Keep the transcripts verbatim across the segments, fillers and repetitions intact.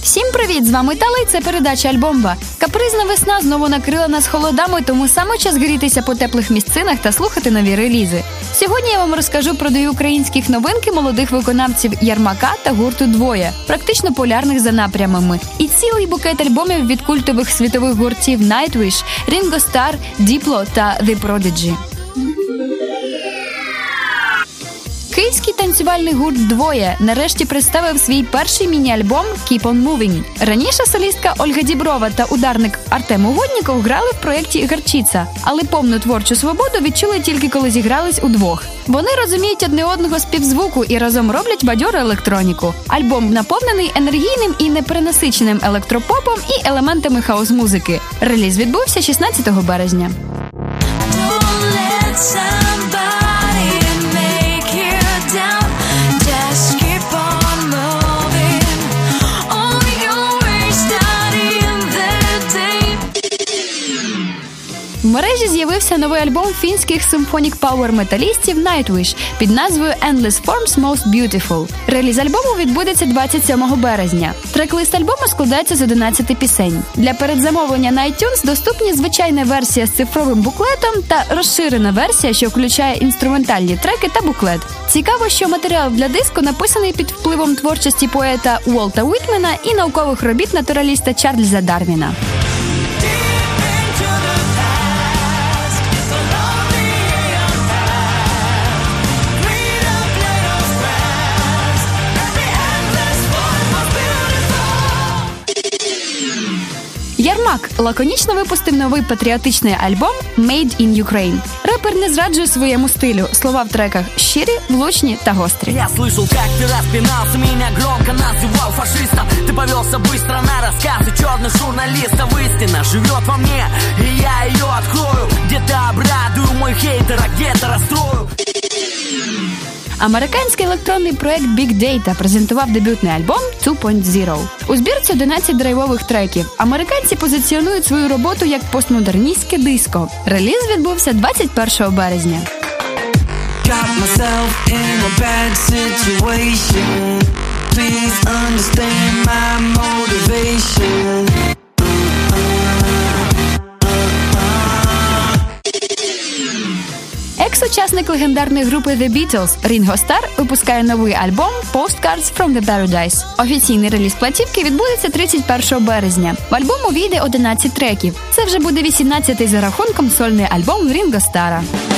Всім привіт! З вами Тала і це передача Альбомба. Капризна весна знову накрила нас холодами, тому саме час грітися по теплих місцинах та слухати нові релізи. Сьогодні я вам розкажу про дві українських новинки молодих виконавців Ярмака та гурту «Двоє», практично полярних за напрямами. І цілий букет альбомів від культових світових гуртів Nightwish, Ringo Starr, Diplo та The Prodigy. Київський танцювальний гурт «Двоє» нарешті представив свій перший міні-альбом «Keep on Moving». Раніше солістка Ольга Діброва та ударник Артем Угодніков грали в проєкті «Гарчиця», але повну творчу свободу відчули тільки коли зігрались удвох. Вони розуміють одне одного з півзвуку і разом роблять бадьору електроніку. Альбом наповнений енергійним і неперенасиченим електропопом і елементами хаос-музики. Реліз відбувся шістнадцятого березня. В мережі з'явився новий альбом фінських симфонік пауер-металістів Nightwish під назвою «Endless Forms Most Beautiful». Реліз альбому відбудеться двадцять сьомого березня. Трек-лист альбому складається з одинадцяти пісень. Для передзамовлення на iTunes доступні звичайна версія з цифровим буклетом та розширена версія, що включає інструментальні треки та буклет. Цікаво, що матеріал для диску написаний під впливом творчості поета Уолта Уітмена і наукових робіт натураліста Чарльза Дарвіна. Ярмак лаконічно випустив новий патріотичний альбом «Made in Ukraine». Репер не зраджує своєму стилю. Слова в треках щирі, влучні та гострі. Я слышал, как ты распинался, меня громко называл фашистом. Ты повелся быстро на рассказы черных журналистов. Истина живет во мне, и я ее открою. Где-то обрадую мой хейтер, а где-то расстрою. Американський електронний проект Big Data презентував дебютний альбом two point zero. У збірці одинадцять драйвових треків. Американці позиціонують свою роботу як постмодерністське диско. Реліз відбувся двадцять першого березня. Екс-учасник легендарної групи The Beatles Рінго Стар випускає новий альбом Postcards from the Paradise. Офіційний реліз платівки відбудеться тридцять першого березня. В альбом увійде одинадцять треків. Це вже буде вісімнадцятий за рахунком сольний альбом Рінго Стара.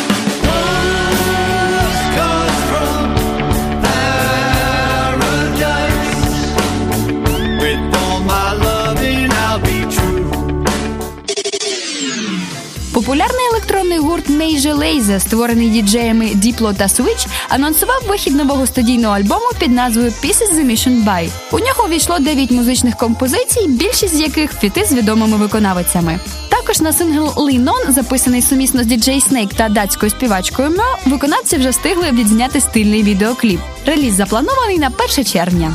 Популярний електронний гурт Major Lazer, створений діджеями Diplo та Switch, анонсував вихід нового студійного альбому під назвою Pieces the Mission By. У нього увійшло дев'ять музичних композицій, більшість з яких фіти з відомими виконавицями. Також на сингл Lean On, записаний сумісно з діджей Snake та датською співачкою Мо, виконавці вже встигли відзняти стильний відеокліп. Реліз запланований на перше червня.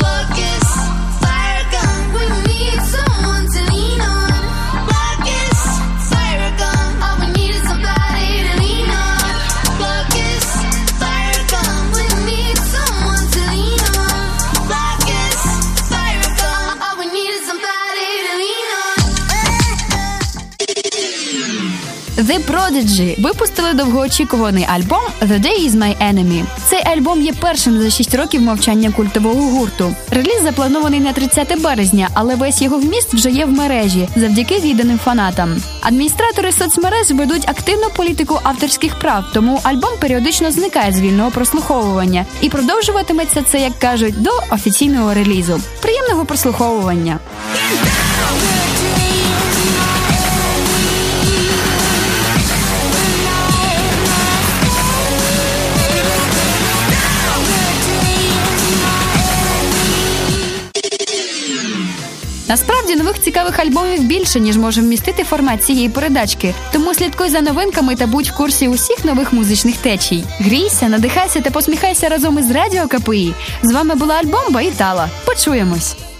The Prodigy випустили довгоочікуваний альбом «The Day Is My Enemy». Цей альбом є першим за шість років мовчання культового гурту. Реліз запланований на тридцяте березня, але весь його вміст вже є в мережі, завдяки відданим фанатам. Адміністратори соцмереж ведуть активну політику авторських прав, тому альбом періодично зникає з вільного прослуховування. І продовжуватиметься це, як кажуть, до офіційного релізу. Приємного прослуховування! Насправді, нових цікавих альбомів більше, ніж може вмістити формат цієї передачки. Тому слідкуй за новинками та будь в курсі усіх нових музичних течій. Грійся, надихайся та посміхайся разом із Радіо КПІ. З вами була Альбомба і Тала. Почуємось!